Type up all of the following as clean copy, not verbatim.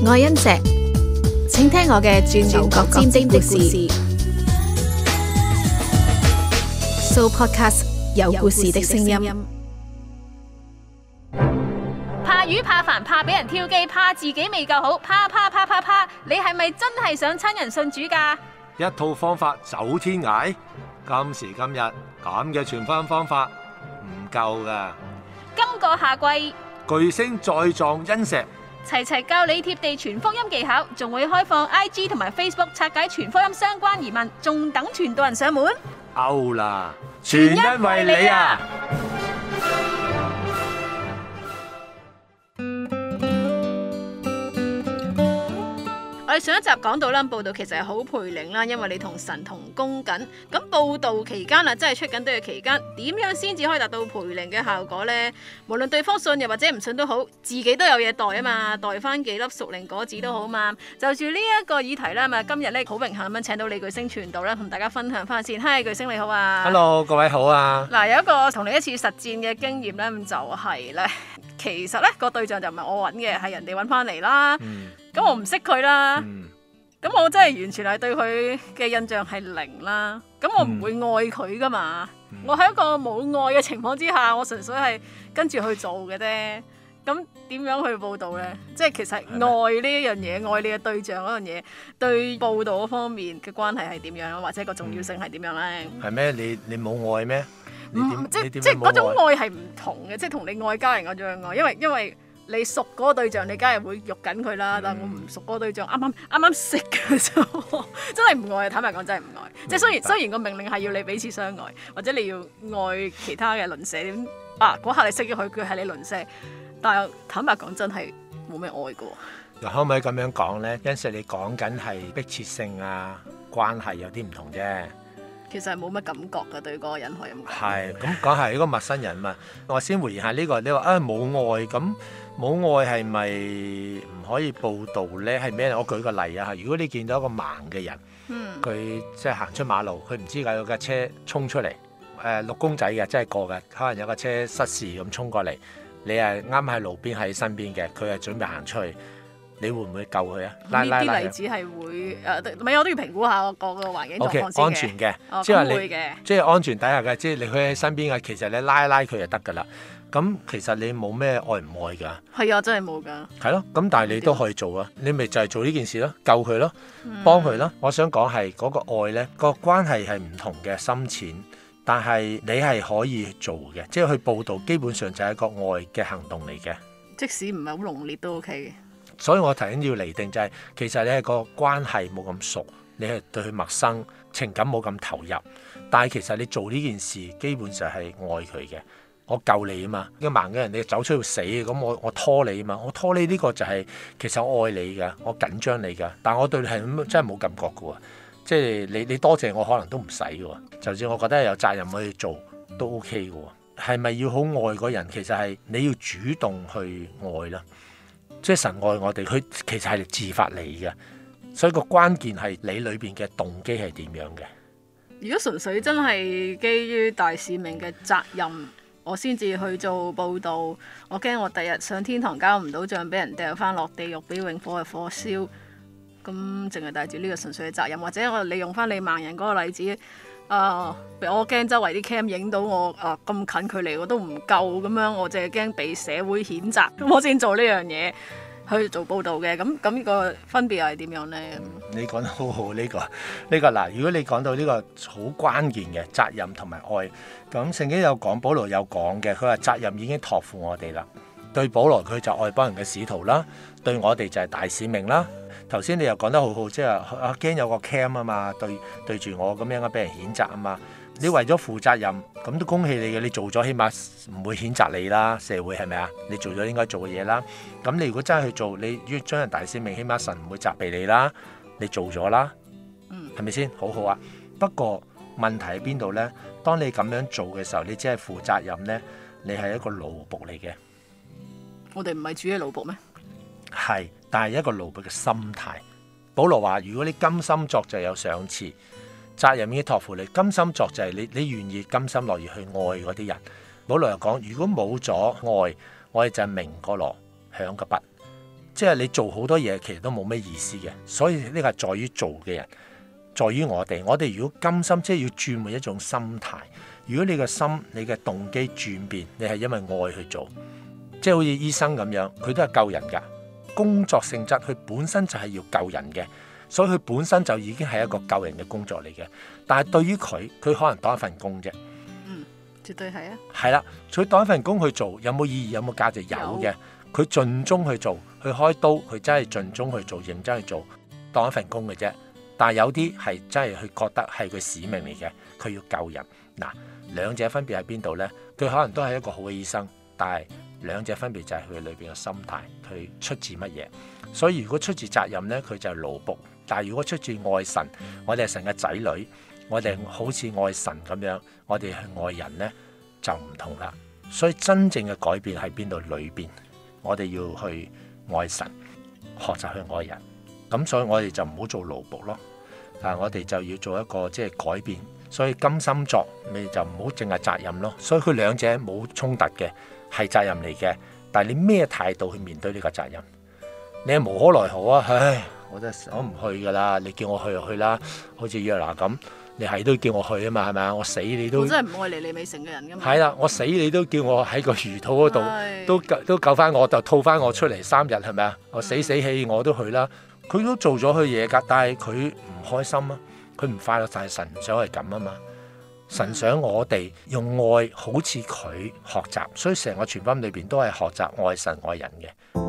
愛恩石，請聽我嘅轉牛角尖的故事。So Podcast 有故事的聲音。 怕魚怕煩怕俾人挑機，怕自己未夠好，怕，你係咪真係想親人信主㗎？ 一套方法走天涯，今時今日咁嘅傳福音方法唔夠㗎。 今個夏季， 巨星再撞恩石， 齊教你貼地傳福音技巧，仲會開放 IG 同埋 Facebook 拆解傳福音相關疑問，仲等傳道人上門。 out啦！全因為你啊！ 我哋上一集講到啦，報道其實係好培靈啦，因為你同神同工緊。咁報道期間啊，真係出緊隊嘅期間，點樣先至可以達到培靈嘅效果呢？無論對方信又或者唔信都好，自己都有嘢袋啊嘛，袋翻幾粒屬靈果子都好嘛。就住呢一個議題啦，今日咧好榮幸咁樣請到李巨星傳道咧，同大家分享翻先。嗨，巨星你好啊 ！Hello， 各位好啊！ 嗱，有一個同你一次實戰嘅經驗咧，咁就係咧，其實咧個對象就唔係我揾嘅，係人哋揾翻嚟啦。咁我唔識佢啦，咁我真係完全係對佢嘅印象係零啦。咁我唔會愛佢噶嘛，我喺一個冇愛嘅情況之下，我純粹係跟住去做嘅啫。咁點樣去報導呢？即係其實愛呢一樣嘢，愛你嘅對象嗰樣嘢，對報導嗰方面嘅關係係點樣，或者個重要性係點樣呢？ 係咩？你冇愛咩？ 即係嗰種愛係唔同嘅，即係同你愛家人嗰種愛，因為你熟嗰個對象，你梗係會喐緊佢啦。但係我唔熟嗰個對象，啱啱識嘅啫，真係唔愛。坦白講，真係唔愛。即係雖然個命令係要你彼此相愛，或者你要愛其他嘅鄰舍點嗰刻你識咗佢係你鄰舍，但係坦白講真係冇咩愛過。 可唔可以咁樣講呢？因為你講緊係迫切性啊，關係有啲唔同啫。 其實係冇乜感覺㗎，對嗰個人可以咁講。 係咁講係一個陌生人嘛。我先回應下呢個，你話冇愛咁。冇愛係咪唔可以報導呢？係咩？我舉個例啊，如果你見到一個盲嘅人，佢即係行出馬路，佢唔知有架車衝出嚟，綠公仔嘅，真係過嘅，可能有架車失事咁衝過嚟，你係啱喺路邊喺身邊嘅，佢係準備行出去，你會唔會救佢啊？呢啲例子係會唔係我都要評估下個環境狀況先嘅。 Okay，安全嘅， 即係你即係安全底下嘅，即係你佢喺身邊嘅，其實你拉佢就得㗎啦。咁其實你冇咩愛唔愛㗎？係啊，真係冇㗎。 係咯，咁但係你都可以做啊！你咪就係做呢件事咯，救佢咯，幫佢咯。我想講係嗰個愛呢，個關係係唔同嘅深淺，但係你係可以做嘅，即係去報導，基本上就係一個愛嘅行動嚟嘅。 即使唔係好濃烈都 OK 嘅。 所以我頭先要釐定就係，其實你係個關係冇咁熟，你係對佢陌生，情感冇咁投入，但係其實你做呢件事基本上係愛佢嘅。我救你啊嘛，一個盲嘅人你走出去死，咁我拖你啊嘛，我拖你呢個就係其實我愛你㗎，我緊張你㗎，但我對你係真係冇感覺㗎喎，即係你多謝我可能都唔使㗎喎，就算我覺得有責任去做都 OK 㗎喎，係咪要好愛嗰人？其實係你要主動去愛啦，即係神愛我哋，佢其實係自發嚟嘅，所以個關鍵係你裏邊嘅動機係點樣嘅。 如果純粹真係基於大使命嘅責任，我先至去做報導，我驚我第日上天堂交唔到帳，俾人掉翻落地獄，俾永火嘅火燒。咁淨係帶住呢個純粹嘅責任，或者我利用翻你盲人嗰個例子，我驚周圍啲 cam 影到我咁近距離我都唔夠咁樣，我淨係驚被社會譴責，咁我先做呢樣嘢去做報導嘅。咁呢個分別又係點樣呢？ 你講得好好呢個嗱，如果你講到呢個好關鍵嘅責任同埋愛，咁聖經有講，保羅有講嘅，佢話責任已經託付我哋啦。對保羅佢就愛幫人嘅使徒啦，對我哋就係大使命啦。頭先你又講得好好，即係驚有個 cam 啊嘛，對住我咁樣俾人譴責啊嘛。你為咗負責任，咁都恭喜你嘅，你做咗起碼唔會譴責你啦，社會係咪啊？你做咗應該做嘅嘢啦。咁你如果真係去做，你要將人大使命，起碼神唔會責備你啦。你做咗啦，係咪先？好好啊。不過問題喺邊度呢？當你咁樣做嘅時候，你只係負責任呢，你係一個奴僕嚟嘅。 我哋唔係主嘅奴僕咩？ 係，但係一個奴僕嘅心態。保羅話：如果你甘心作就有賞賜，責任已經託付你，甘心作就係你願意甘心樂意去愛嗰啲人。保羅又講：如果冇咗愛，我哋就係鳴個鑼響個鈸。 即係你做好多嘢其實都冇咩意思嘅。所以呢個係在於做嘅人，在於我哋。我哋如果甘心，即係要轉換一種心態。如果你嘅心、你嘅動機轉變，你係因為愛去做，即係好似醫生咁樣，佢都係救人㗎。工作性質佢本身就係要救人嘅，所以佢本身就已經係一個救人嘅工作嚟嘅。但係對於佢可能當一份工啫。 絕對係啊。係啦，佢當一份工去做，有冇意義？有冇價值？有嘅。佢盡忠去做，去開刀，佢真係盡忠去做，認真去做，當一份工嘅啫。但係有啲係真係佢覺得係佢使命嚟嘅，佢要救人。嗱，兩者分別喺邊度呢？佢可能都係一個好嘅醫生，但係兩者分別就係佢裏邊嘅心態，佢出自乜嘢。所以如果出自責任呢，佢就係奴僕；但係如果出自愛神，我哋係神嘅仔女，我哋好似愛神咁樣，我哋係愛人呢，就唔同啦。所以真正嘅改變喺邊度？裏邊我哋要去愛神，學習去愛人。咁所以我哋就唔好做奴僕咯，但係我哋就要做一個即係改變。所以甘心作，你就唔好淨係責任咯。所以佢兩者冇衝突嘅，係責任嚟嘅。但係你咩態度去面對呢個責任？你係無可奈何啊！唉，我唔去噶啦，你叫我去就去啦。好似約拿咁，你係都叫我去啊嘛，係咪啊？我死你都， 我真係唔愛嚟你未成嘅人噶嘛。 係啦，我死你都叫我喺個魚肚嗰度都救翻我，就吐翻我出嚟3日，係咪啊？我死氣我都去啦。佢都做咗佢嘢㗎，但係佢唔開心啊。佢唔快樂，但係神想係咁啊嘛。神想我哋用愛好似佢學習，所以成個傳福音裏邊都係學習愛神愛人嘅。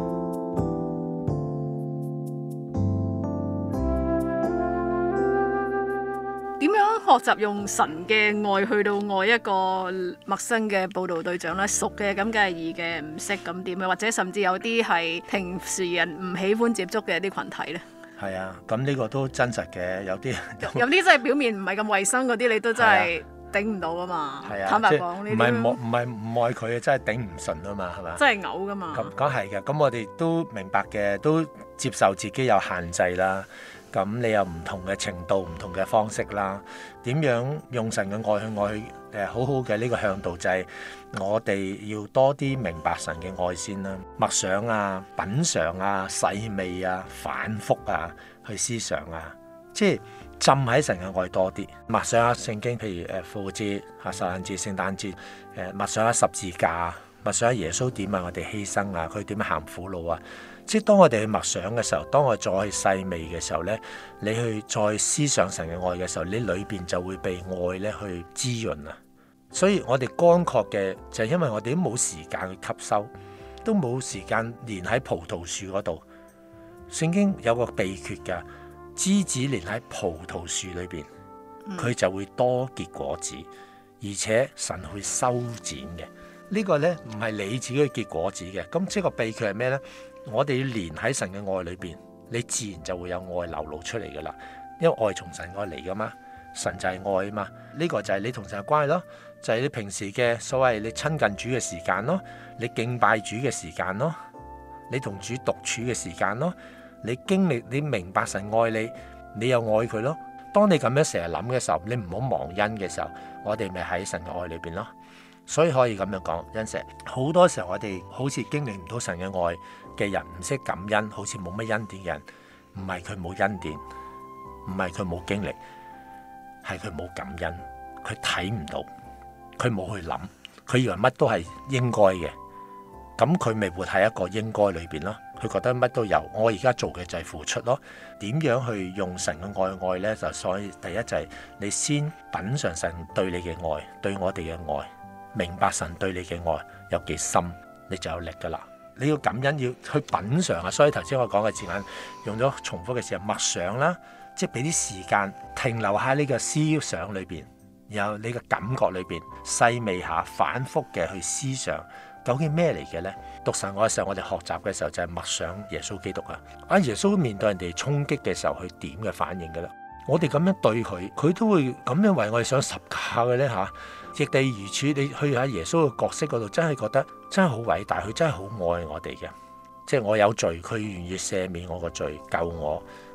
點樣學習用神嘅愛去到愛一個陌生嘅佈道對象咧？熟嘅咁梗係易嘅，唔識咁點樣？或者甚至有啲係平時人唔喜歡接觸嘅一啲群體咧？ 係啊，咁呢個都真實嘅，有啲真係表面唔係咁衞生嗰啲，你都真係頂唔到啊嘛。 係啊， 坦白講，呢啲唔係唔愛佢嘅，真係頂唔順啊嘛，係嘛？ 真係嘔噶嘛。 咁係嘅，咁我哋都明白嘅，都接受自己有限制啦。咁你有唔同嘅程度、唔同嘅方式啦。點樣用神嘅愛去愛好好嘅呢個向導就係我哋要多啲明白神嘅愛先啦，默想啊、品嚐啊、細味啊、反覆啊、去思想啊，即係浸喺神嘅愛多啲。默想下聖經，譬如復活節、受難節、聖誕節，默想下十字架，默想下耶穌點為我哋犧牲啊，佢點樣行苦路啊。即係當我哋去默想嘅時候，當我再去細味嘅時候呢，你去再思想神嘅愛嘅時候，你裏邊就會被愛咧去滋潤啊。所以我哋乾涸嘅就係因為我哋都冇時間去吸收，都冇時間連喺葡萄樹嗰度。聖經有個秘訣㗎，枝子連喺葡萄樹裏邊，佢就會多結果子，而且神會修剪嘅。呢個呢唔係你自己去結果子嘅。咁即係個秘訣係咩呢？我哋要連喺神嘅愛裏邊，你自然就會有愛流露出嚟噶啦。因為愛從神愛嚟噶嘛，神就係愛啊嘛。呢個就係你同神嘅關係咯，就係你平時嘅所謂你親近主嘅時間咯，你敬拜主嘅時間咯，你同主獨處嘅時間咯，你經歷你明白神愛你，你又愛佢咯。當你咁樣成日諗嘅時候，你唔好忘恩嘅時候，我哋咪喺神嘅愛裏邊咯。所以可以咁樣講，恩石好多時候我哋好似經歷唔到神嘅愛嘅人，唔識感恩，好似冇乜恩典嘅人，唔係佢冇恩典，唔係佢冇經歷，係佢冇感恩，佢睇唔到，佢冇去諗，佢以為乜都係應該嘅，咁佢咪活喺一個應該裏邊咯。佢覺得乜都有，我而家做嘅就係付出咯。點樣去用神嘅愛呢？就所以第一就係你先品嚐神對你嘅愛，對我哋嘅愛。明白神對你嘅愛有幾深，你就有力噶啦。你要感恩，要去品嚐啊。所以頭先我講嘅字眼用咗重複嘅時候，默想啦，即係俾啲時間停留喺呢個思想裏邊，然後你嘅感覺裏邊細味下，反覆嘅去思想究竟咩嚟嘅呢？讀神愛嘅時候，我哋學習嘅時候就係默想耶穌基督啊。耶穌面對人哋衝擊嘅時候，佢點嘅反應噶啦？我哋咁樣對佢，佢都會咁樣為我哋上十架嘅呢。嚇。亦地如此，你去喺耶穌嘅角色嗰度，真係覺得真係好偉大，佢真係好愛我哋嘅。即係我有罪，佢願意赦免我個罪，救我。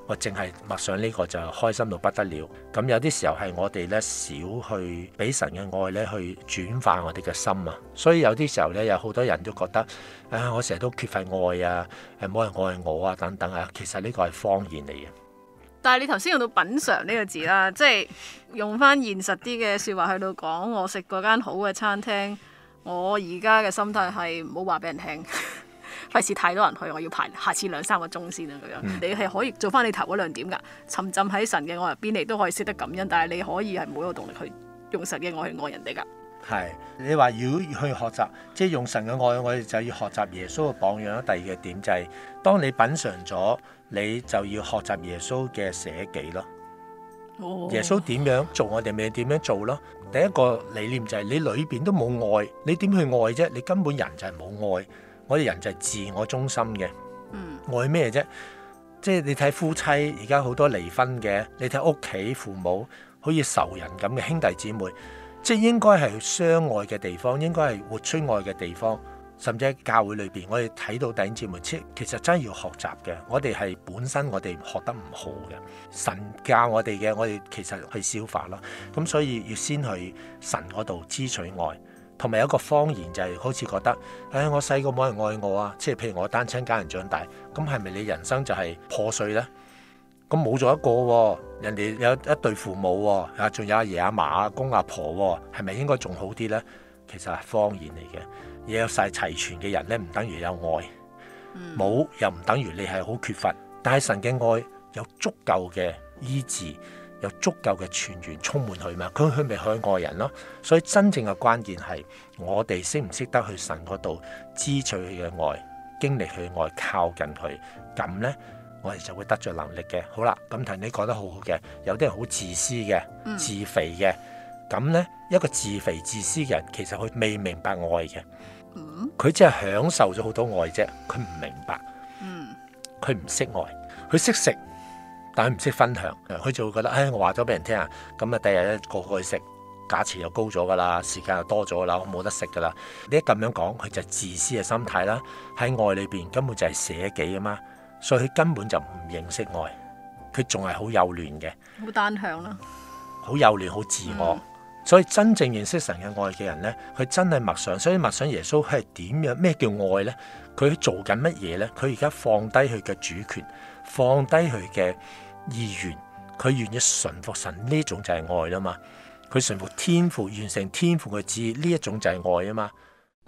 我淨係默想呢個就開心到不得了。咁有啲時候係我哋咧少去俾神嘅愛咧去轉化我哋嘅心啊，所以有啲時候咧有好多人都覺得我成日都缺乏愛啊，冇人愛我啊等等啊，其實呢個係謊言嚟嘅。 但係你頭先用到品嚐呢個字啦，即係用翻現實啲嘅説話去到講，我食嗰間好嘅餐廳，我而家嘅心態係唔好話俾人聽。費事太多人去，我要排下次2-3個鐘先啊！咁樣你係可以做翻你頭嗰2點㗎，沉浸喺神嘅愛入邊，你都可以識得感恩。但係你可以係冇個動力去用神嘅愛去愛人哋㗎。 係你話如果去學習，即係用神嘅愛，我哋就要學習耶穌嘅榜樣。第二個點就係、是，當你品嚐咗，你就要學習耶穌嘅捨己咯。耶穌點樣做，我哋咪點樣做咯。第一個理念就係、是、你裏邊都冇愛，你點去愛啫？你根本人就係冇愛。我哋人就係自我中心嘅，愛咩啫？即係你睇夫妻而家好多離婚嘅，你睇屋企父母好似仇人咁嘅兄弟姊妹，即係應該係相愛嘅地方，應該係活出愛嘅地方。甚至喺教會裏邊，我哋睇到弟兄姊妹，其實真係要學習嘅。我哋係本身我哋學得唔好嘅，神教我哋嘅，我哋其實去消化咯。咁所以要先去神嗰度支取愛。同埋有一個謊言就係好似覺得，我細個冇人愛我啊，即係譬如我單親家人長大，咁係咪你人生就係破碎呢？咁冇咗一個喎，人哋有一對父母喎，仲有阿爺阿嫲阿公阿婆喎，係咪應該仲好啲呢？其實係謊言嚟嘅，有晒齊全嘅人呢，唔等於有愛，冇又唔等於你係好缺乏，但係神嘅愛有足夠嘅醫治。有足夠嘅泉源充滿佢嘛，佢咪去愛人咯。所以真正嘅關鍵係我哋識唔識得去神嗰度支取佢嘅愛，經歷佢嘅愛，靠近佢，咁呢，我哋就會得着能力嘅。好啦，咁頭你講得好好嘅，有啲人好自私嘅、自肥嘅，咁呢，一個自肥自私嘅人，其實佢未明白愛嘅，佢只係享受咗好多愛啫，佢唔明白，佢唔識愛，佢識食。但係唔識分享，佢就會覺得，我話咗俾人聽啊，咁啊第日咧個個去食，價錢又高咗噶啦，時間又多咗啦，我冇得食噶啦。你一咁樣講，佢就係自私嘅心態啦。喺愛裏邊根本就係捨己啊嘛，所以佢根本就唔認識愛，佢仲係好幼嫩嘅， 好單向啦， 好幼嫩，好自我。所以真正認識神嘅愛嘅人咧，佢真係默想，所以默想耶穌係點樣？咩叫愛咧？佢做緊乜嘢咧？佢而家放低佢嘅主權，放低佢嘅意願，佢願意順服神，呢種就係愛啦嘛。佢順服天父，完成天父嘅旨意，呢一種就係愛啊嘛。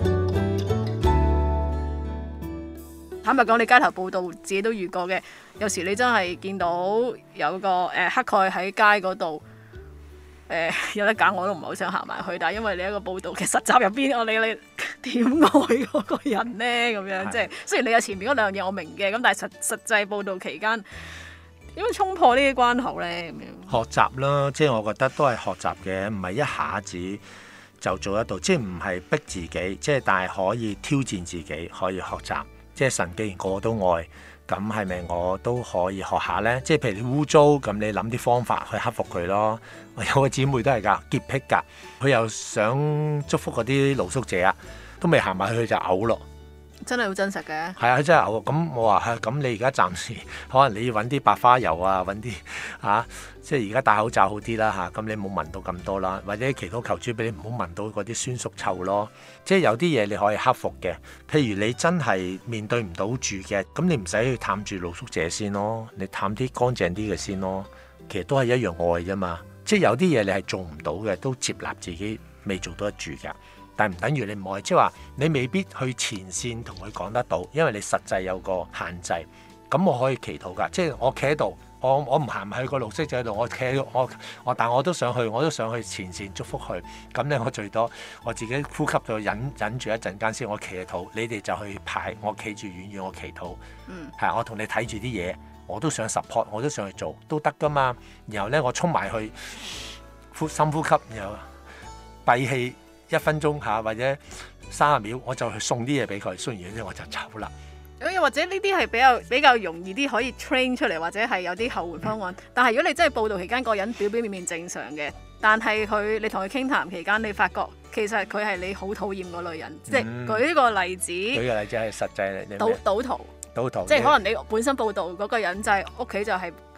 坦白講，你街頭報道自己都遇過嘅，有時你真係見到有個乞丐喺街嗰度，有得揀我都唔係好想行埋去，但係因為你一個報道嘅實習入邊，我理你點愛嗰個人呢？咁樣即係雖然你有前面嗰兩樣嘢我明嘅，咁但係實際報道期間。點樣衝破呢啲關口呢？咁樣學習啦，即係我覺得都係學習嘅，唔係一下子就做得到，即係唔係逼自己，即係但係可以挑戰自己，可以學習。即係神既然個個都愛，咁係咪我都可以學下呢？即係譬如你污糟，咁你諗啲方法去克服佢咯。我有個姊妹都係㗎，潔癖㗎，佢又想祝福嗰啲露宿者啊，都未行埋去就嘔咯。 真係好真實嘅， 係啊，真係嘔。咁我話咁你而家暫時可能你要揾啲白花油啊，揾啲即係而家戴口罩好啲啦咁你冇聞到咁多啦，或者祈禱求主俾你唔好聞到嗰啲酸餿臭咯。即係有啲嘢你可以克服嘅，譬如你真係面對唔到住嘅，咁你唔使去探住露宿者先咯，你探啲乾淨啲嘅先咯。其實都係一樣愛啫嘛。即係有啲嘢你係做唔到嘅，都接納自己未做到得住㗎。但唔等於你唔愛，即係話你未必去前線同佢講得到，因為你實際有個限制。咁我可以祈禱㗎，即係我企喺度，我唔行埋去個綠色者度，我企喺度，但我都想去前線祝福佢。咁咧，我最多我自己呼吸到忍住一陣間先，我企喺度，你哋就去排，我企住遠遠，我祈禱。係我同你睇住啲嘢，我都想 support， 我都想去做，都得㗎嘛。然後咧，我衝埋去深呼吸，然後閉氣。1分鐘或者30秒，我就去送啲嘢俾佢，送完嘢之後我就走啦。 又或者呢啲係比較容易啲可以 train 出嚟，或者係有啲後援方案。但係如果你真係報道期間個人表面正常嘅，但係你同佢傾談期間，你發覺其實佢係你好討厭嗰類人。即係舉個例子， 舉個例子係實際賭徒，即係可能你本身報道嗰個人就係屋企就係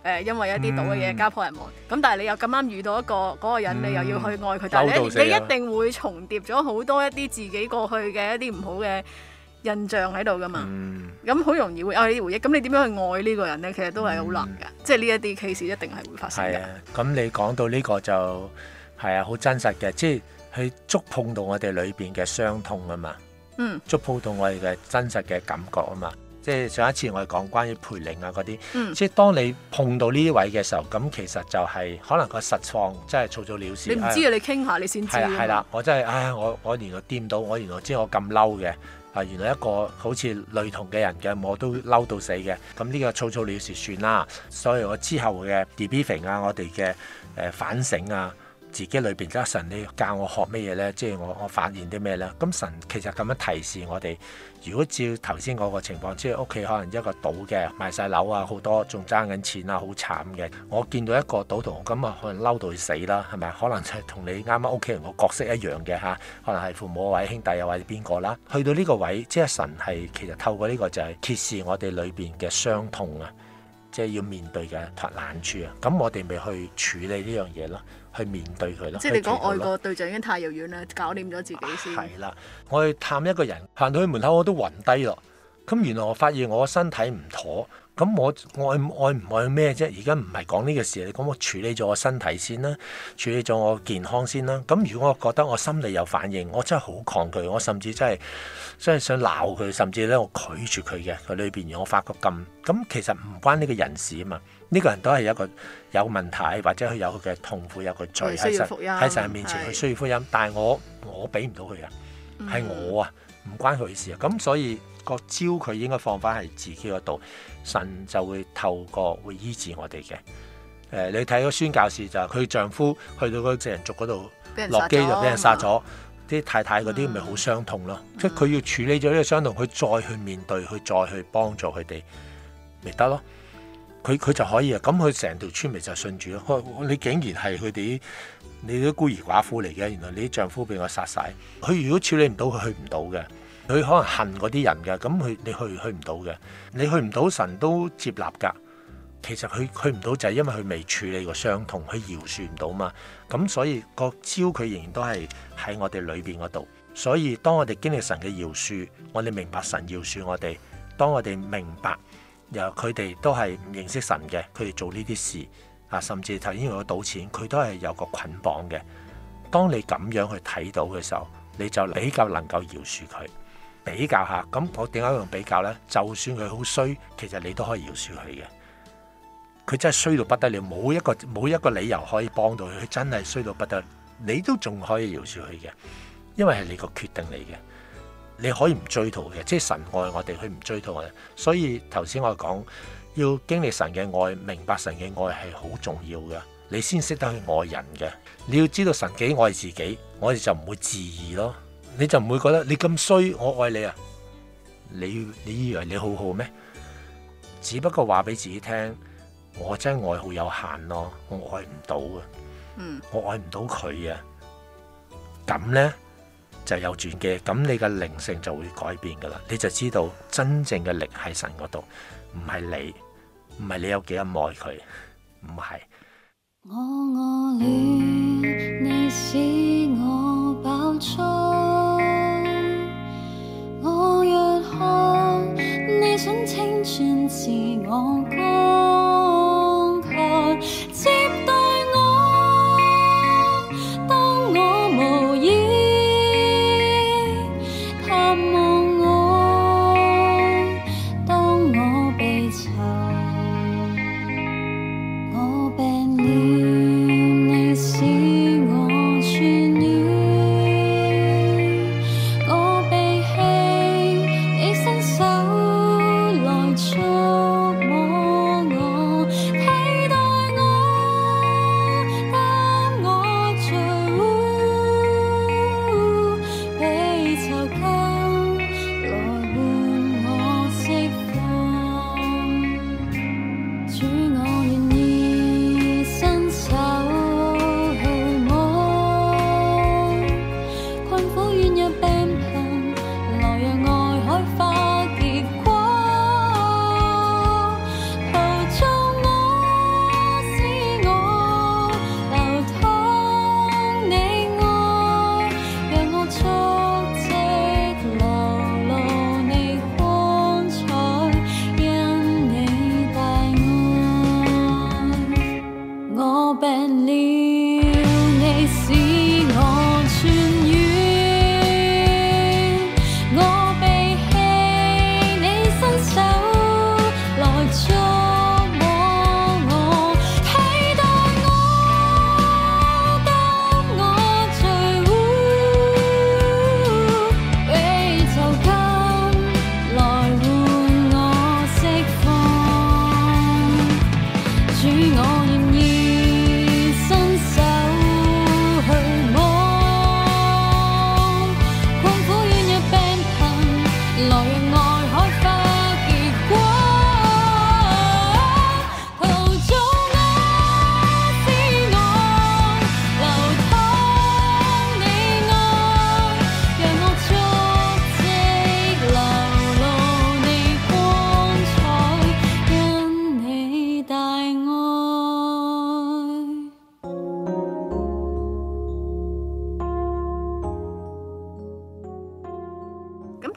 因為一啲賭嘅嘢家破人亡。咁但係你又咁啱遇到一個嗰個人，你又要去愛佢，但係你一定會重疊咗好多一啲自己過去嘅一啲唔好嘅印象喺度噶嘛。咁好容易會有呢啲回憶。咁你點樣去愛呢個人呢？其實都係好難㗎。即係呢一啲 case 一定係會發生嘅。 咁你講到呢個就係啊，好真實嘅，即係去觸碰到我哋裏邊嘅傷痛啊嘛。觸碰到我哋嘅真實嘅感覺啊嘛。即係上一次我哋講關於培靈啊嗰啲，即係當你碰到呢啲位嘅時候，咁其實就係可能個實況真係草草了事。 你唔知啊，你傾下你先知。 係啦，我真係我原來掂到，我原來知我咁嬲嘅。原來一個好似類同嘅人嘅，我都嬲到死嘅。咁呢個草草了事算啦。所以我之後嘅 debriefing 啊，我哋嘅反省啊，自己裏邊即係神你教我學咩嘢咧？即係我發現啲咩咧？咁神其實咁樣提示我哋，如果照頭先嗰個情況，即係屋企可能一個賭嘅賣晒樓啊，好多仲爭緊錢啊，好慘嘅。我見到一個賭徒咁啊，可能嬲到佢死啦，係咪？可能就係同你啱啱屋企人個角色一樣嘅嚇，可能係父母或者兄弟又或者邊個啦。去到呢個位，即係神係其實透過呢個就係揭示我哋裏邊嘅傷痛啊，即係要面對嘅難處啊。咁我哋咪去處理呢樣嘢咯。去面對佢咯， 即係你講愛個對象已經太遙遠啦，搞掂咗自己先。 係啦，我去探一個人，行到去門口我都暈低咯。咁原來我發現我身體唔妥，咁我愛唔愛咩啫？而家唔係講呢個事，你講我處理咗我身體先啦，處理咗我健康先啦。咁如果我覺得我心理有反應，我真係好抗拒，我甚至真係想鬧佢，甚至咧我拒絕佢嘅佢裏邊，我發覺咁其實唔關呢個人事啊嘛。呢個人都係一個有問題，或者佢有佢嘅痛苦，有個罪喺神面前，佢需要福音。但係我俾唔到佢嘅，係我啊，唔關佢事啊。咁所以個招佢應該放翻喺自己嗰度，神就會透過會醫治我哋嘅。你睇個宣教士就係佢丈夫去到嗰個人族嗰度落機就俾人殺咗，啲太太嗰啲咪好傷痛咯。即係佢要處理咗呢個傷痛，佢再去面對，佢再去幫助佢哋，咪得咯。佢就可以啊，咁佢成條村咪就信住咯。你竟然係佢哋你啲孤兒寡婦嚟嘅，原來你啲丈夫俾我殺晒。佢如果處理唔到，佢去唔到嘅。佢可能恨嗰啲人嘅，咁你去唔到嘅。你去唔到，神都接納㗎。其實佢去唔到就係因為佢未處理過傷痛，佢饒恕唔到嘛。咁所以個招佢仍然都係喺我哋裏邊嗰度。所以當我哋經歷神嘅饒恕，我哋明白神饒恕我哋。當我哋明白。由佢哋都係唔認識神嘅，佢哋做呢啲事啊，甚至頭先用咗賭錢，佢都係有個捆綁嘅。當你咁樣去睇到嘅時候，你就比較能夠饒恕佢。比較下，咁我點解用比較呢？就算佢好衰，其實你都可以饒恕佢嘅。佢真係衰到不得了，冇一個理由可以幫到佢。佢真係衰到不得了，你都仲可以饒恕佢嘅，因為係你個決定嚟嘅。你可以唔追討嘅，即係神愛我哋，佢唔追討我哋。所以頭先我講要經歷神嘅愛，明白神嘅愛係好重要嘅，你先識得去愛人嘅。你要知道神幾愛自己，我哋就唔會自義咯。你就唔會覺得你咁衰，我愛你啊？你以為你好好咩？只不過話俾自己聽，我真係愛好有限咯，我愛唔到嘅，我愛唔到佢啊。咁呢？就有轉機，咁你嘅靈性就會改變噶啦，你就知道真正嘅力喺神嗰度，唔係你有幾咁愛佢，唔係。 我餓了，你使我飽足；我若渴，你想清泉自我乾涸，接待我，當我無依。我病了，你使我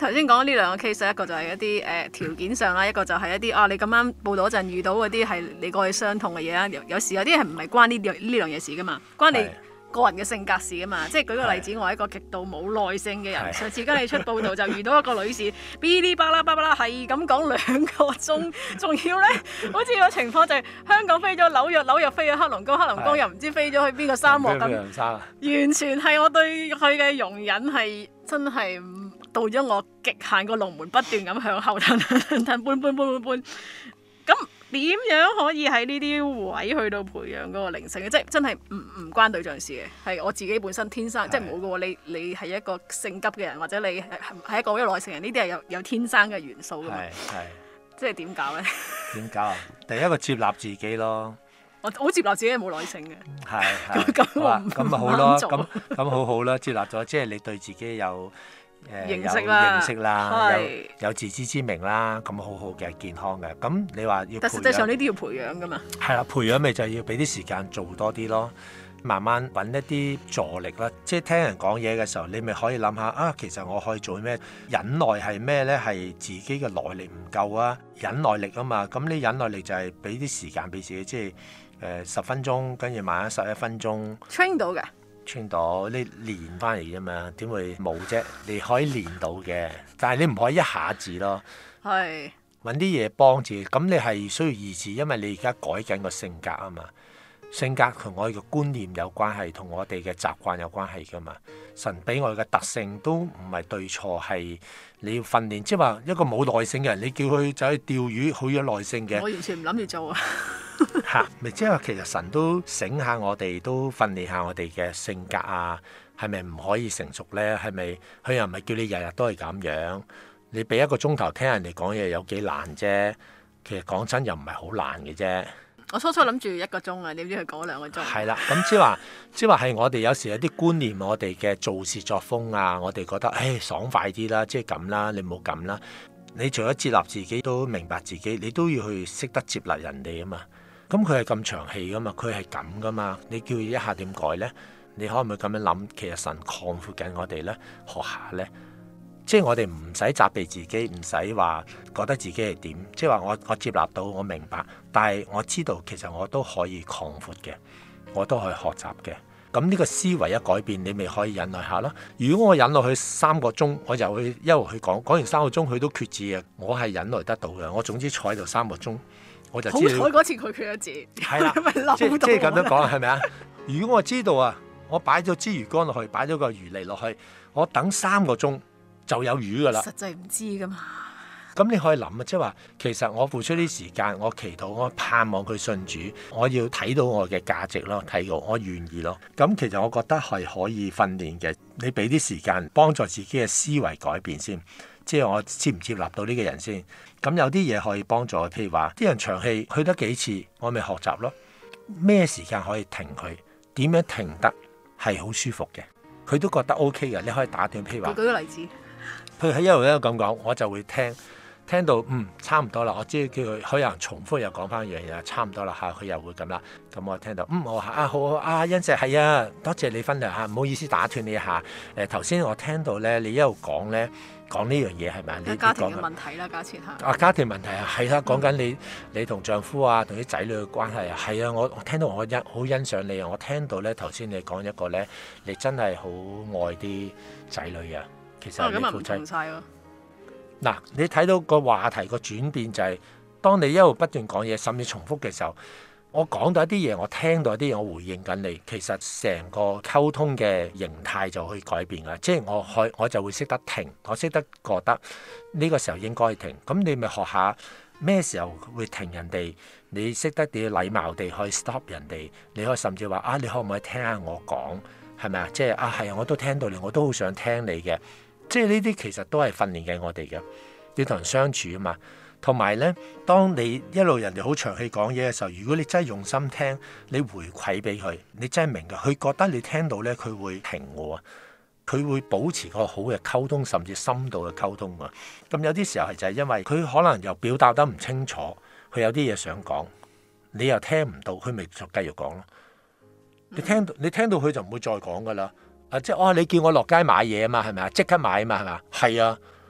頭先講呢兩個 case， 一個就係一啲條件上啦，一個就係一啲你咁啱報道嗰陣遇到嗰啲係你過去傷痛嘅嘢啦。有時有啲係唔係關呢樣嘢事噶嘛，關你個人嘅性格事噶嘛。即係舉個例子，我係一個極度冇耐性嘅人。上次跟你出報道就遇到一個女士，嗶哩吧啦吧啦係咁講2個鐘，仲要咧好似個情況就係香港飛咗紐約，紐約飛咗黑龍江，黑龍江又唔知飛咗去邊個沙漠咁。完全係我對佢嘅容忍係真係到咗我極限，個龍門不斷咁向後騰搬。咁點樣可以喺呢啲位去到培養嗰個靈性嘅？即係真係唔關對象事嘅，係我自己本身天生，即係冇嘅喎。你係一個性急嘅人，或者你係一個好有耐性人，呢啲係有天生嘅元素㗎嘛。即係點搞咧？ 點搞啊？第一個接納自己咯。 我好接納自己係冇耐性嘅。 咁咪好咯。咁好好啦，接納咗，即係你對自己有認識啦，有自知之明啦，咁好好嘅健康嘅。咁你話要，但實際上呢啲要培養噶嘛。係啦，培養咪就係要俾啲時間做多啲咯，慢慢揾一啲助力啦。即係聽人講嘢嘅時候，你咪可以諗下其實我可以做咩？忍耐係咩呢？係自己嘅耐力唔夠啊，忍耐力啊嘛。咁你忍耐力就係俾啲時間俾自己，即係10分鐘，跟住慢慢11分鐘。train 到嘅。穿到你練翻嚟啫嘛，點會冇啫？你可以練到嘅，但係你唔可以一下子咯。係揾啲嘢幫自己，咁你係需要意志，因為你而家改緊個性格啊嘛。性格同我哋嘅觀念有關係，同我哋嘅習慣有關係噶嘛。神俾我哋嘅特性都唔係對錯，係你要訓練。即係話一個冇耐性嘅人，你叫佢走去釣魚，好有耐性嘅。我完全唔諗住做啊！咪即係話其實神都醒下我哋，都訓練下我哋嘅性格啊，係咪唔可以成熟呢？係咪佢又唔係叫你日日都係咁樣？你俾1個鐘頭聽人哋講嘢有幾難啫？其實講真又唔係好難嘅啫。我初初諗住1個鐘啊，點知佢講2個鐘。係啦，咁即係話係我哋有時有啲觀念，我哋嘅做事作風啊，我哋覺得爽快啲啦，即係咁啦，你唔好咁啦。你除咗接納自己，都明白自己，你都要去識得接納人哋啊嘛。咁佢係咁長氣噶嘛，佢係咁噶嘛，你叫佢一下點改呢？你可唔可以咁樣諗？其實神擴闊緊我哋呢，學下呢，即係我哋唔使責備自己，唔使話覺得自己係點，即係話我接納到，我明白，但係我知道其實我都可以擴闊嘅，我都可以學習嘅。咁呢個思維一改變，你咪可以忍耐下咯。如果我忍落去3個鐘，我就去一路去講完3個鐘，佢都決志嘅，我係忍耐得到嘅。我總之坐喺度3個鐘。我就知好彩嗰次佢決咗志，係啦，即係咁樣講，係咪啊？如果我知道啊，我擺咗支魚竿落去，擺咗個魚嚟落去，我等3個鐘就有魚噶啦。實際唔知噶嘛。咁你可以諗啊，即係話其實我付出啲時間，我祈禱，我盼望佢信主，我要睇到我嘅價值咯，睇到我願意咯。咁其實我覺得係可以訓練嘅。你俾啲時間幫助自己嘅思維改變先。即係我接唔接納到呢個人先，咁有啲嘢可以幫助，譬如話啲人長氣去得幾次，我咪學習咯。咩時間可以停佢？點樣停得係好舒服嘅？佢都覺得 OK 嘅，你可以打斷。譬如話，舉個例子，佢喺一路咁講，我就會聽到差唔多啦。我知叫佢可能重複又講翻一樣嘢，差唔多啦嚇，佢又會咁啦。咁我聽到我話好欣石係啊，多謝你分享嚇，唔好意思打斷你一下。頭先我聽到咧，你一路講咧。講呢樣嘢係咪？你家庭嘅問題啦，假設嚇。家庭問題係啦，講緊你同丈夫啊，同啲仔女嘅關係啊，係啊，我聽到我好欣賞你啊，我聽到咧頭先你講一個咧，你真係好愛啲仔女啊，其實你夫妻。咁唔同曬喎。嗱，你睇到個話題個轉變就係，當你一路不斷講嘢，甚至重複嘅時候。我講到一啲嘢，我聽到一啲嘢，我回應緊你。其實成個溝通嘅形態就可以改變㗎，即係我就會識得停，我識得覺得呢個時候應該停。咁你咪學下咩時候會停人哋？你識得點禮貌地去 stop 人哋？你可以甚至話你可唔可以聽下我講？係咪啊？即係係啊，我都聽到你，我都好想聽你嘅。即係呢啲其實都係訓練緊我哋嘅，要同人相處啊嘛。同埋咧，當你一路人哋好長氣講嘢嘅時候，如果你真係用心聽，你回饋俾佢，你真係明嘅，佢覺得你聽到咧，佢會停喎，佢會保持個好嘅溝通，甚至深度嘅溝通啊。咁有啲時候係就係因為佢可能又表達得唔清楚，佢有啲嘢想講，你又聽唔到，佢咪就繼續講咯。你聽到佢就唔會再講噶啦。即係你叫我落街買嘢啊嘛，係咪啊？即刻買啊嘛，係咪啊？係啊。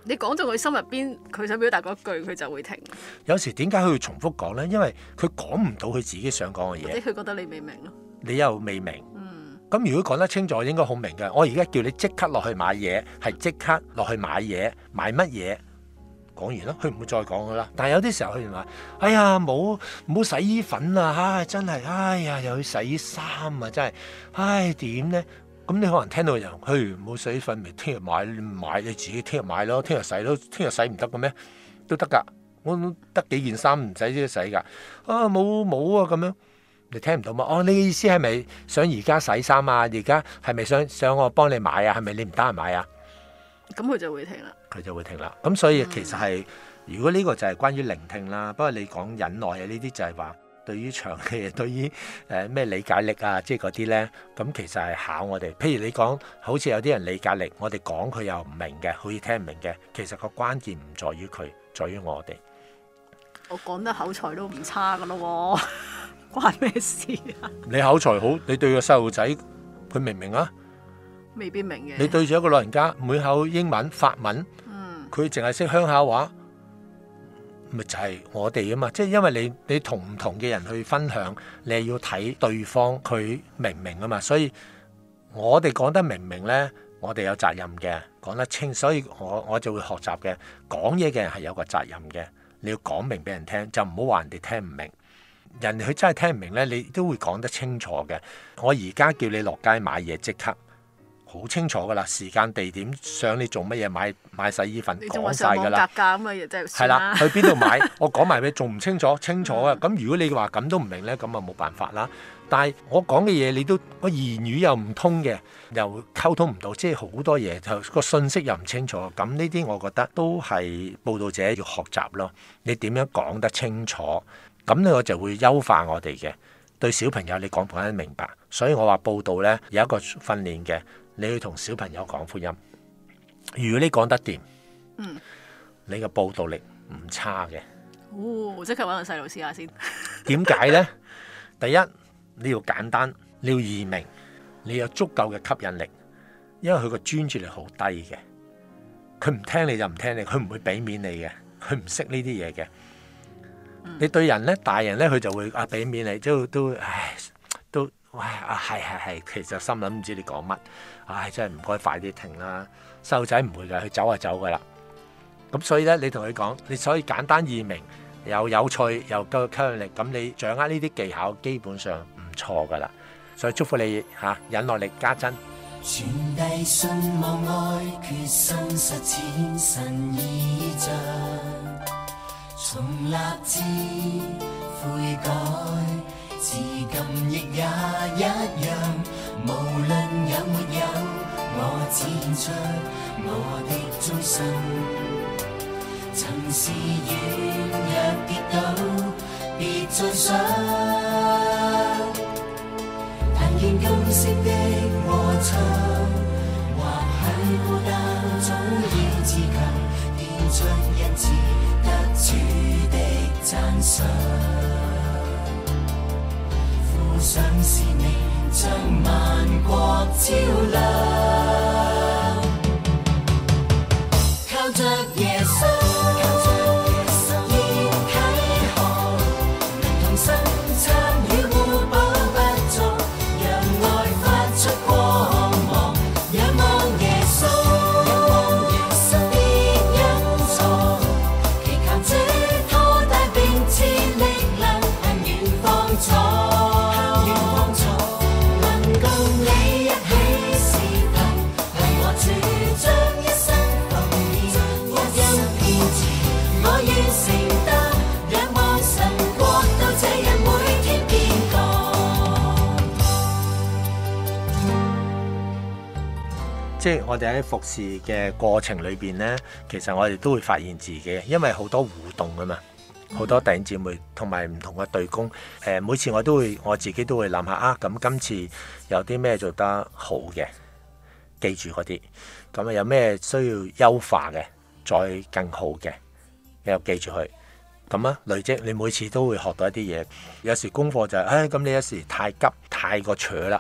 你講到佢心入邊，佢想表達嗰句，佢就會停。 有時點解佢會重複講呢？因為佢講唔到佢自己想講嘅嘢， 或者佢覺得你未明咯。 你又未明。咁如果講得清楚，應該好明嘅。我而家叫你即刻落去買嘢，係即刻落去買嘢，買乜嘢？講完咯，佢唔會再講噶啦。但係有啲時候佢話：哎呀，冇洗衣粉啊！唉，真係，哎呀，又要洗衣衫啊！真係，唉，點呢？咁你可能聽到人，冇洗衣粉，咪聽日買你自己聽日買咯，聽日洗咯，聽日洗唔得嘅咩？都得㗎，我得幾件衫唔使即洗㗎。啊，冇啊咁樣。你聽唔到嘛？哦，你嘅意思係咪想而家洗衫啊？而家係咪想我幫你買啊？係咪你唔得閒買啊？ 咁佢就會停啦。 佢就會停啦。咁所以其實係，如果呢個就係關於聆聽啦。不過你講忍耐啊，呢啲就係話對於長嘅，對於咩理解力啊，即係嗰啲咧，咁其實係考我哋。譬如你講，好似有啲人理解力，我哋講佢又唔明嘅，好似聽唔明嘅。其實個關鍵唔在於佢，在於我哋。 我講得口才都唔差噶咯喎。關咩事啊？你口才好，你對個細路仔，佢明唔明啊？ 未必明嘅。 你對住一個老人家，每口英文、法文，佢淨係識鄉下話，咪就係我哋啊嘛。即係因為你同唔同嘅人去分享，你係要睇對方佢明唔明啊嘛。所以我哋講得明唔明呢？我哋有責任嘅，講得清。所以我就會學習嘅，講嘢嘅人係有個責任嘅。你要講明俾人聽，就唔好話人哋聽唔明。人哋佢真係聽唔明呢，你都會講得清楚嘅。我而家叫你落街買嘢，即刻好清楚噶啦，時間地點，想你做乜嘢，買洗衣粉，講晒噶啦。 格價咁嘅嘢真係係啦，去邊度買，我講埋俾你，仲唔清楚？清楚啊！咁如果你話咁都唔明呢，咁啊冇辦法啦。但係我講嘅嘢，你都個言語又唔通嘅，又溝通唔到，即係好多嘢就個信息又唔清楚。咁呢啲我覺得都係報道者要學習咯。你點樣講得清楚？咁咧我就會優化我哋嘅對小朋友，你講得明白。所以我話報道呢，有一個訓練嘅，你要同小朋友講福音。如果你講得掂，你嘅報道力唔差嘅。 即刻揾個細路試下先。 點解呢？第一，你要簡單，你要易明，你有足夠嘅吸引力，因為佢個專注力好低嘅。佢唔聽你就唔聽你，佢唔會俾面你嘅，佢唔識呢啲嘢嘅。你對人咧，大人咧，佢就會俾面你，都係，其實心諗唔知你講乜，真係唔該快啲停啦。細路仔唔會㗎，佢走就走㗎啦。咁所以咧，你同佢講，你所以簡單易明，又有趣，又夠吸引力，咁你掌握呢啲技巧，基本上唔錯㗎啦。所以祝福你忍耐力加增。 傳遞信望愛，決心實踐神意象。從立志悔改，至今亦也一樣。無論有沒有，我只獻出我的終身。曾是軟弱跌倒，別再想。但願今生的歌唱，或許孤單總要自強，獻出恩賜。主的讚賞，附上使命，將萬國照亮。靠着耶穌，現啟航，能同心參與互補不足，讓愛發出光芒，仰望耶穌。 即係我哋喺服侍嘅過程裏邊呢，其實我哋都會發現自己，因為好多互動啊嘛，好多弟兄姊妹同埋唔同嘅隊工，每次我自己都會諗下咁今次有啲咩做得好嘅，記住嗰啲，咁有咩需要優化嘅，再更好嘅，又記住佢，咁累積你每次都會學到一啲嘢。有時功課就係，咁你有時太急太過扯啦。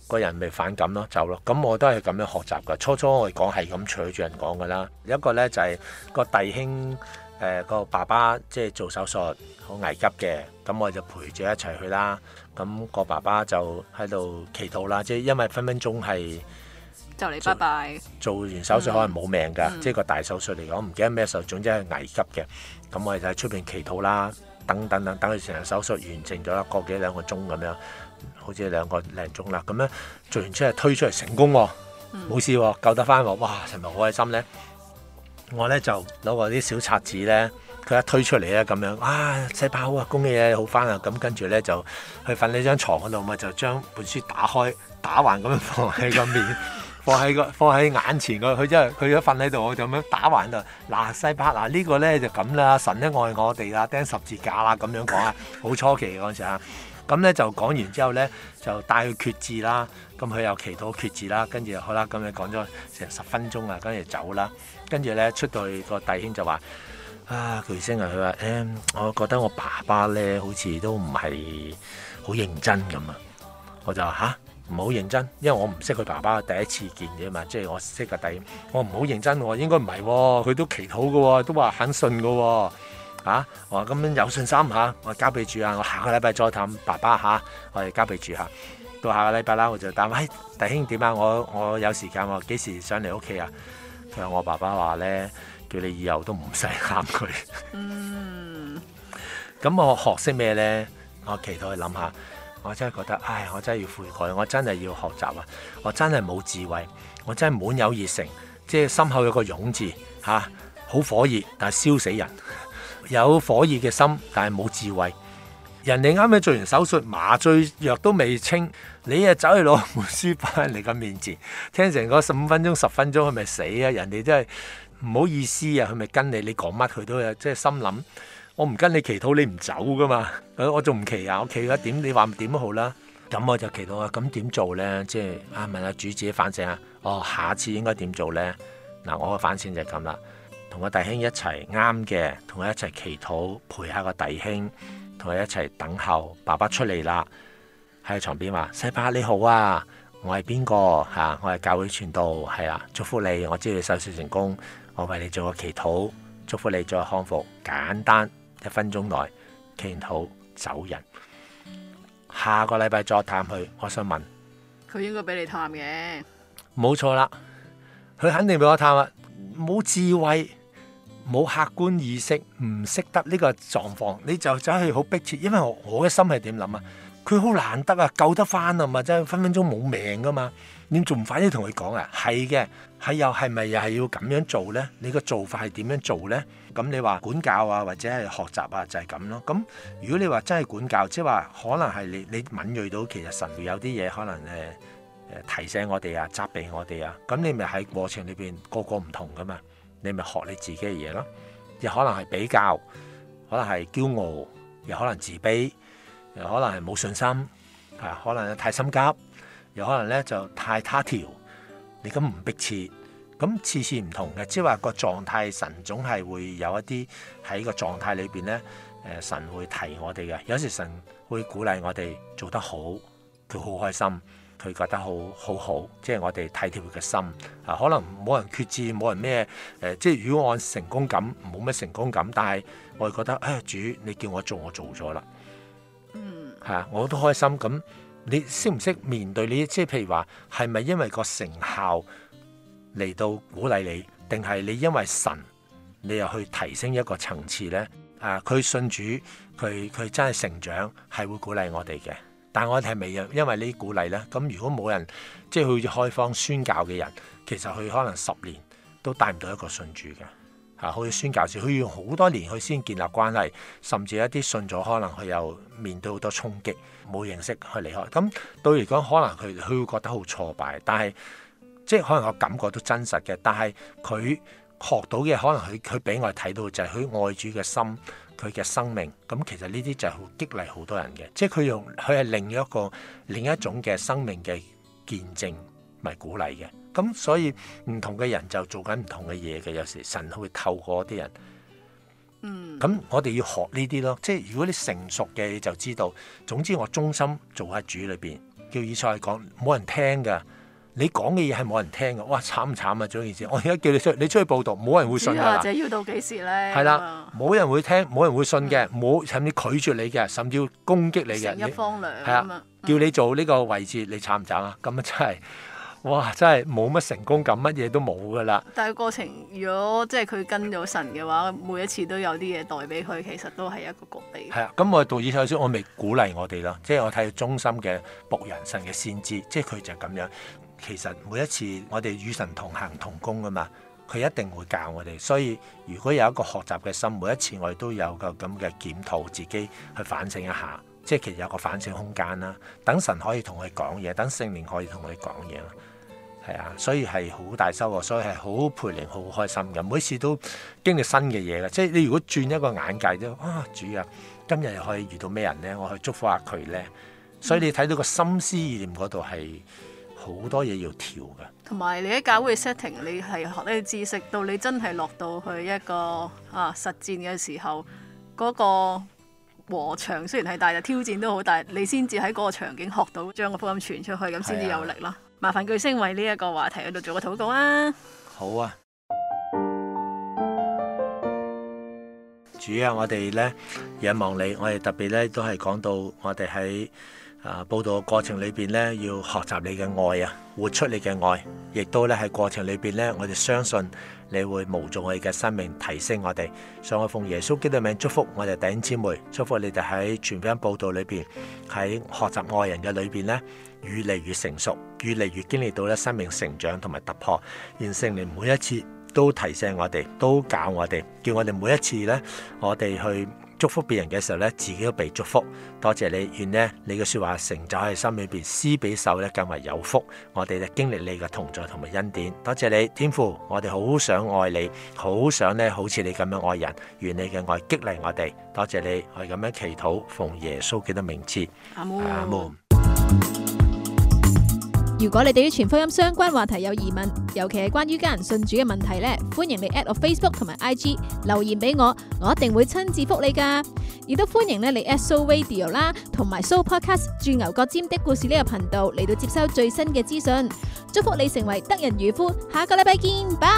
個人咪反感咯，走咯。咁我都係咁樣學習㗎。初初我哋講係咁隨住人講㗎啦。有一個咧就係個弟兄個爸爸即係做手術好危急嘅，咁我就陪住一齊去啦。咁個爸爸就喺度祈禱啦，即係因為分分鐘係就嚟拜拜。 做完手術可能冇命㗎，即係個大手術嚟講，唔記得咩時候，總之係危急嘅。咁我哋就喺出邊祈禱啦，等佢成個手術完成咗1個幾2個鐘咁樣，好似2個零鐘啦。咁樣做完出嚟推出嚟成功喎，冇事喎，救得翻喎，哇！係咪好開心咧？我咧就攞個啲小冊子咧，佢一推出嚟咧咁樣，細胞好啊，恭喜你好翻啊！咁跟住咧就去瞓呢張床嗰度，咪就將本書打開打橫咁樣放喺個面。放喺眼前佢真係佢一瞓喺度，我就咁樣打橫度。嗱，西伯嗱呢個咧就咁啦，神咧愛我哋啦，釘十字架啦咁樣講啊，好初期嗰陣時啊。咁咧就講完之後咧，就帶佢決志啦。咁佢又祈禱決志啦，跟住好啦，咁你講咗成10分鐘啊，跟住走啦。跟住咧出到去個弟兄就話：巨星啊，佢話我覺得我爸爸咧好似都唔係好認真咁啊。我就話唔好認真，因為我唔識佢爸爸，第一次見嘅嘛，即係我識個弟，我唔好認真喎，應該唔係喎，佢都祈禱嘅喎，都話肯信嘅喎，我話咁樣有信心嚇，我交俾主啊，我下個禮拜再探爸爸嚇，我哋交俾主嚇，到下個禮拜啦，我就答弟兄點啊，我有時間喎，幾時上嚟屋企啊？佢話我爸爸話咧，叫你以後都唔使喊佢。咁我學識咩咧？我祈禱去諗下。我真係覺得，我真係要悔改，我真係要學習啊！我真係冇智慧，我真係滿有熱誠，即係心口有個勇字好火熱，但係燒死人。有火熱嘅心，但係冇智慧。人哋啱啱做完手術，麻醉藥都未清，你啊走去攞本書擺喺人哋嘅面前，聽成個15分鐘、10分鐘，佢咪死啊！人哋真係唔好意思啊，佢咪跟你講乜佢都有，即係心諗。我唔跟你祈禱，你唔走噶嘛？我仲唔祈啊？我祈咗點？你話點都好啦。咁我就祈禱啊。咁點做咧？即係問下主自己反省啊。下次應該點做咧？嗱，我嘅反省就係咁啦。同個弟兄一齊啱嘅，同佢一齊祈禱，陪下個弟兄，同佢一齊等候爸爸出嚟啦。喺床邊話：西伯你好啊，我係邊個？我係教會傳道，係啊，祝福你。我知道你手術成功，我為你做個祈禱，祝福你再康復。簡單。1分鐘內祈禱走人，下個禮拜再探佢。我想問佢應該俾你探嘅， 冇錯啦，佢肯定俾我探啦。冇智慧，冇客觀意識，唔識得呢個狀況，你就走去好迫切。因為我嘅心係點諗啊？佢好難得啊，救得翻啊嘛，真係分分鐘冇命噶嘛。你仲唔快啲同佢講啊？係嘅，係咪又係要咁樣做呢？你個做法係點樣做呢？咁你話管教啊，或者係學習啊，就係咁咯。咁如果你話真係管教，即係話可能係你敏鋭到其實神會有啲嘢可能提醒我哋啊，責備我哋啊。咁你咪喺過程裏邊個唔同噶嘛，你咪學你自己嘅嘢咯。又可能係比較，可能係驕傲，又可能自卑，又可能係冇信心，可能太心急，又可能咧就太他條，你咁唔迫切。咁次次唔同嘅，即係話個狀態，神總係會有一啲喺個狀態裏邊咧，神會提我哋嘅。有時神會鼓勵我哋做得好，佢好開心，佢覺得好，即係我哋體貼佢嘅心。可能冇人決志，冇人咩即係如果按成功感冇咩成功感，但係我哋覺得主你叫我做，我做咗啦。我都開心。咁你識唔識面對呢？即係譬如話係咪因為個成效嚟到鼓勵你，定係你因為神你又去提升一個層次呢？佢信主，佢真係成長，係會鼓勵我哋嘅。但係我哋係咪因為呢啲鼓勵呢？咁如果冇人即係好似開荒宣教嘅人，其實佢可能10年都帶唔到一個信主嘅。好似宣教士，佢要好多年佢先建立關係，甚至一啲信咗，可能佢又面對好多衝擊，冇認識去離開。咁對嚟講，可能佢會覺得好挫敗，但係即係可能我感覺都真實嘅，但係佢學到嘅可能佢俾我哋睇到就係佢愛主嘅心，佢嘅生命。咁其實呢啲就係好激勵好多人嘅，即係佢係另一種嘅生命嘅見證，咪鼓勵嘅。咁所以唔同嘅人就做緊唔同嘅嘢嘅，有時神會透過啲人。咁我哋要學呢啲咯，即係如果你成熟嘅你就知道，總之我忠心做喺主裏邊， 叫以賽亞講，冇人聽㗎。你講嘅嘢係冇人聽㗎。哇，慘唔慘啊！做件事，我而家叫你出去報道，冇人會信㗎啦。 或者要到幾時咧？ 係啦，冇人會聽，冇人會信嘅，冇甚至拒絕你嘅，甚至要攻擊你嘅。 成一方涼係啊，叫你做呢個位置，你慘唔慘啊？咁啊真係，哇！真係冇乜成功感，乜嘢都冇㗎啦。 但係過程，如果即係佢跟咗神嘅話，每一次都有啲嘢代俾佢，其實都係一個局嚟。 係啊，咁我讀以賽亞書，我未鼓勵我哋啦，即係我睇忠心嘅僕人，神嘅先知，即係佢就係咁樣。其實每一次我哋與神同行同工㗎嘛，佢一定會教我哋。所以如果有一個學習嘅心，每一次我哋都有個咁嘅檢討，自己去反省一下，即係其實有個反省空間啦。等神可以同佢講嘢，等聖靈可以同佢講嘢啦。係啊，所以係好大收穫，所以係好培靈，好開心嘅。每次都經歷新嘅嘢嘅，即係你如果轉一個眼界都主啊，今日又可以遇到咩人咧？我去祝福下佢咧。所以你睇到個心思意念嗰度係好多嘢要調嘅。 同埋你喺教會 setting， 你係學呢啲知識，到你真係落到去一個實戰嘅時候，嗰個禾場雖然係大，但挑戰都好大，你先至喺嗰個場景學到將個福音傳出去，咁先至有力咯。麻煩巨星為呢一個話題喺度做個禱告啊！ 好啊，主啊，我哋咧仰望你，我哋特別咧都係講到我哋喺報道嘅過程裏邊咧，要學習你嘅愛啊，活出你嘅愛，亦都咧喺過程裏邊咧，我哋相信你會無盡我哋嘅生命，提升我哋。所以我奉耶穌基督嘅名祝福我哋弟兄姊妹，祝福你哋喺傳福音報道裏邊，喺學習愛人嘅裏邊咧，越嚟越成熟，越嚟越經歷到咧生命成長同埋突破。願聖靈每一次都提醒我哋，都教我哋，叫我哋每一次咧，我哋去祝福別人嘅時候咧，自己都被祝福。多謝你，願呢你嘅說話成就喺心裏邊，施比受咧更為有福。我哋咧經歷你嘅同在同埋恩典。多謝你，天父，我哋好想愛你，好想咧好似你咁樣愛人。願你嘅愛激勵我哋。多謝你，我哋咁樣祈禱，奉耶穌基督名字。 阿門。 阿門。 如果你對於全福音相關話題有疑問，尤其係關於家人信主嘅問題呢，歡迎你 at 我 Facebook 同埋 IG 留言俾我，我一定會親自覆你噶。亦都歡迎你 at Soul Radio 啦，同埋 Soul Podcast 鑽牛角尖的故事呢個頻道嚟到接收最新嘅資訊。祝福你成為得人漁夫，下個禮拜見，拜。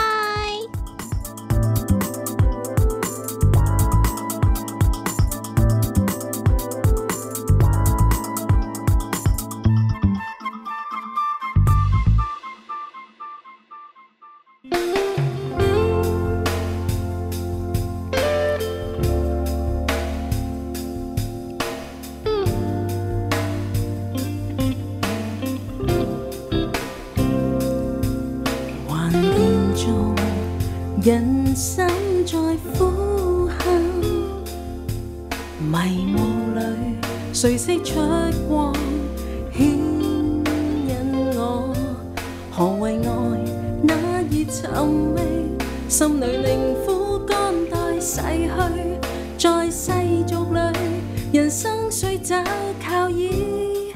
人生在呼喊，迷霧裏誰識出光，牽引我，何為愛那熱尋味，心裏令苦肝待逝去，在世俗裏人生雖找靠倚，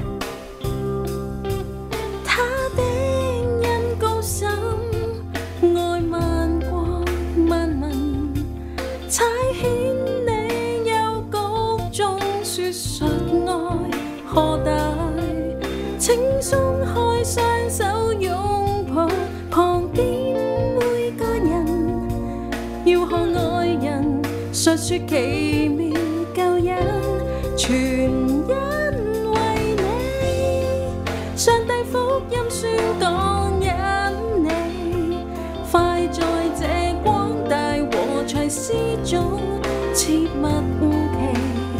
他的恩高深，愛萬國萬民，差遣你幽谷中說述愛何大，請鬆開雙手擁抱旁邊每個人，要向愛人述說奇妙救恩，全因為你，上帝福音宣講因你，快在這廣大禾場施種，切勿誤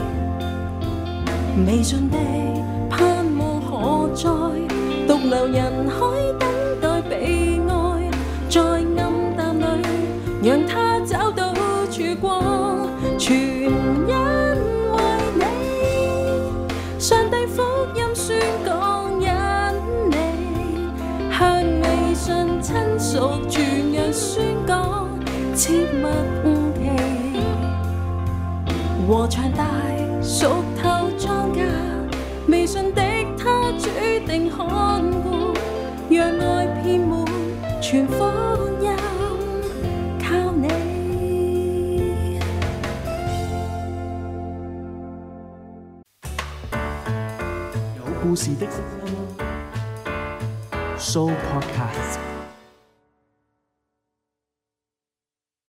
期，未盡的盼望何在，獨留人海等待被愛，在暗淡裏讓他找到曙光，全因為你，上帝福音宣講因你，向未信親屬傳揚宣講，切勿誤期，禾場大，熟透莊稼，未信的他主定看顧，讓愛遍滿全福音，靠你。 有故事的聲音。 Soul Podcast。